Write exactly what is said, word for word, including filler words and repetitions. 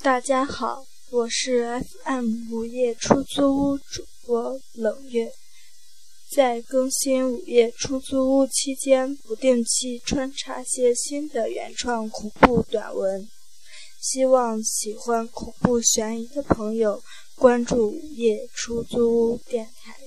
大家好，我是 F M 午夜出租屋主播冷月。在更新午夜出租屋期间，不定期穿插些新的原创恐怖短文，希望喜欢恐怖悬疑的朋友关注午夜出租屋电台。